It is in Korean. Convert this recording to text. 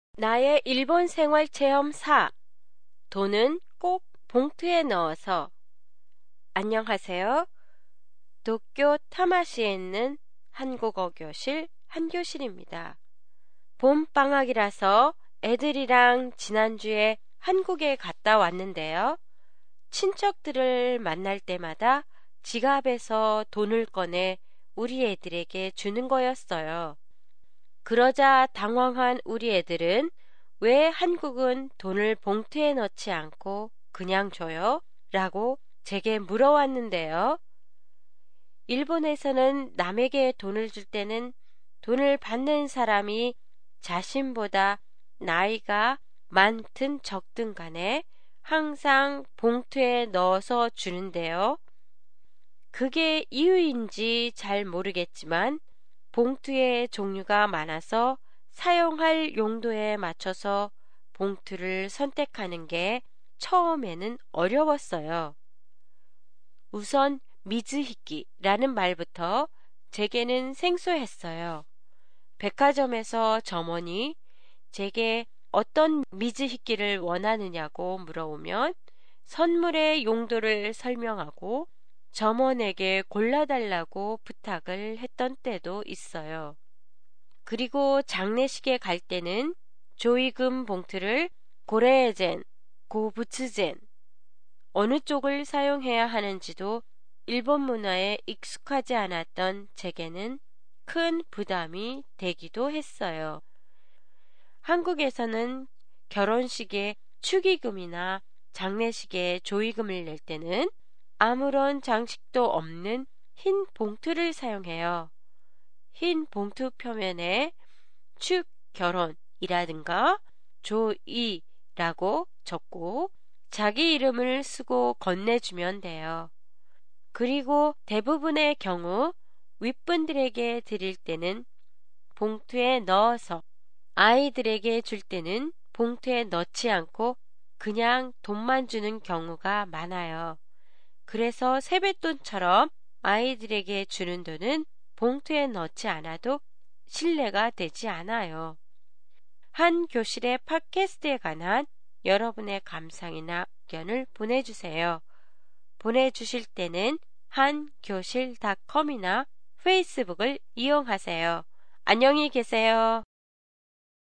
나의 일본 생활 체험 4. 돈은 꼭 봉투에 넣어서. 안녕하세요. 도쿄 타마시에 있는 한국어 교실 한교실입니다. 봄방학이라서 애들이랑 지난주에 한국에 갔다 왔는데요. 친척들을 만날 때마다 지갑에서 돈을 꺼내 우리 애들에게 주는 거였어요. 그러자 당황한 우리 애들은 왜 한국은 돈을 봉투에 넣지 않고 그냥 줘요? 라고 제게 물어왔는데요. 일본에서는 남에게 돈을 줄 때는 돈을 받는 사람이 자신보다 나이가 많든 적든 간에 항상 봉투에 넣어서 주는데요. 그게 이유인지 잘 모르겠지만 봉투의 종류가 많아서 사용할 용도에 맞춰서 봉투를 선택하는 게 처음에는 어려웠어요. 우선 미즈히키라는 말부터 제게는 생소했어요. 백화점에서 점원이 제게 어떤 미즈히키를 원하느냐고 물어오면 선물의 용도를 설명하고 점원에게 골라달라고 부탁을 했던 때도 있어요. 그리고 장례식에 갈 때는 조의금 봉투를 고레에젠, 고부츠젠 어느 쪽을 사용해야 하는지도 일본 문화에 익숙하지 않았던 제게는 큰 부담이 되기도 했어요. 한국에서는 결혼식에 축의금이나 장례식에 조의금을 낼 때는 아무런 장식도 없는 흰 봉투를 사용해요. 흰 봉투 표면에 축 결혼이라든가 조이라고 적고 자기 이름을 쓰고 건네주면 돼요. 그리고 대부분의 경우 윗분들에게 드릴 때는 봉투에 넣어서 아이들에게 줄 때는 봉투에 넣지 않고 그냥 돈만 주는 경우가 많아요. 그래서 세뱃돈처럼 아이들에게 주는 돈은 봉투에 넣지 않아도 신뢰가 되지 않아요. 한 교실의 팟캐스트에 관한 여러분의 감상이나 의견을 보내주세요. 보내주실 때는 한교실닷컴이나 페이스북을 이용하세요. 안녕히 계세요.